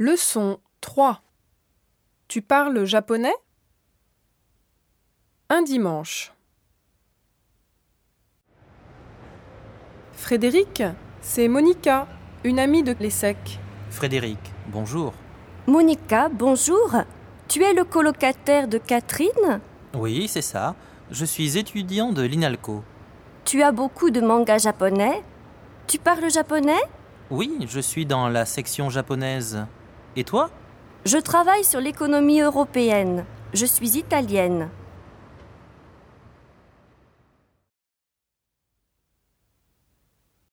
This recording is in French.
Leçon 3. Tu parles japonais? Un dimanche. Frédéric, c'est Monica, une amie de l'ESSEC. Frédéric, bonjour. Monica, bonjour. Tu es le colocataire de Catherine? Oui, c'est ça. Je suis étudiant de l'INALCO. Tu as beaucoup de mangas japonais? Tu parles japonais? Oui, je suis dans la section japonaise. Et toi? Je travaille sur l'économie européenne. Je suis italienne.